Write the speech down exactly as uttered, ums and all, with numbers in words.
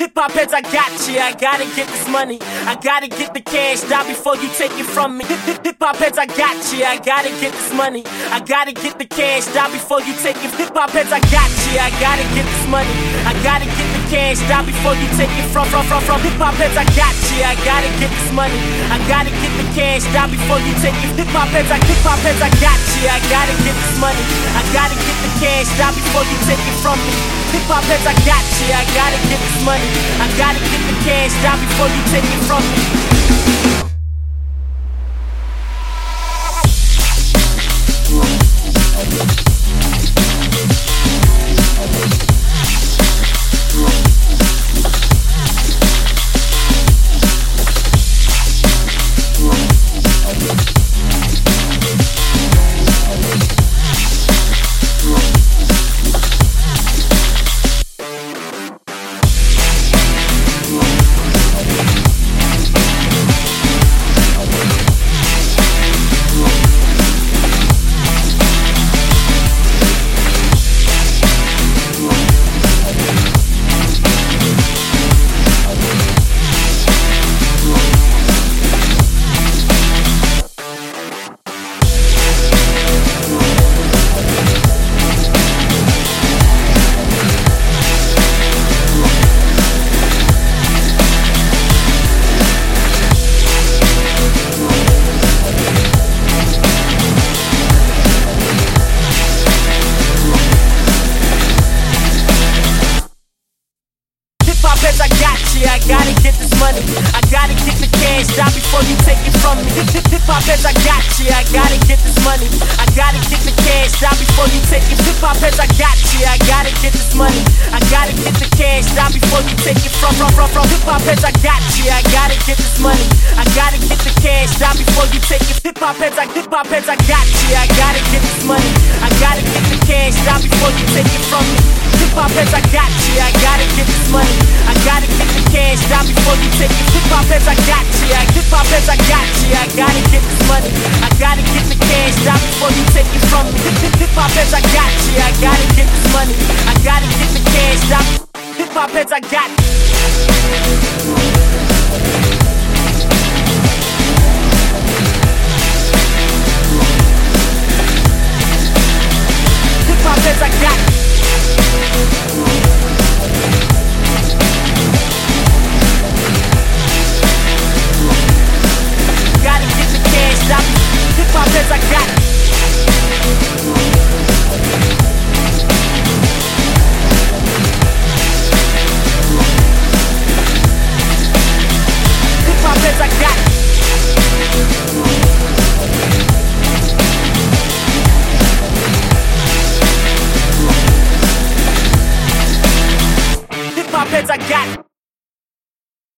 Hip hop heads, I got you. I gotta get this money. I gotta get the cash. Die before you take it from me. Hip hop heads, I got you. I gotta get this money. I gotta get the cash. Die before you take it. Hip hop heads, I got you. I gotta get this money. I gotta get the cash. Die before you take it from from from from. Hip hop heads, I got you. I gotta get this money. I gotta get the cash. Die before you take it. Hip hop heads, I hip hop heads, I got you. I gotta get this money. I gotta get the cash. Die before you take it from me. Hip hop heads, I got you. I gotta get this money. I gotta get the cash. Die before you take it from me. I got you, I gotta get this money. I gotta get the cash. Die before you take it from me. Hip hop heads, I got you. I gotta get this money. I gotta get the cash. Die before you take it. Hip hop heads, I got you. I gotta get this money. I gotta get the cash. Die before you take it from from from from. Hip hop heads, I got you. I gotta get this money. I gotta get the cash. Die before you take it. Hip hop heads, I hip hop heads, I got you. I gotta get this money. I gotta get the cash. Die before you take it from me. Hip hop heads, I got you. I gotta get this money. I gotta get the cash. Die before you take it. Hip hop heads, I got you. I hip hop heads, I got you. I gotta get this money. I gotta get the cash. Die before you take it from me. Hip hop heads, I got you. I gotta get this money. I gotta get the cash. Die. Hip hop heads, I got you. Hip hop heads, I got you. Gotta get the cash. Stop. Hip hop heads, I got it. Hip hop heads, I got it. Hip hop heads, I got it.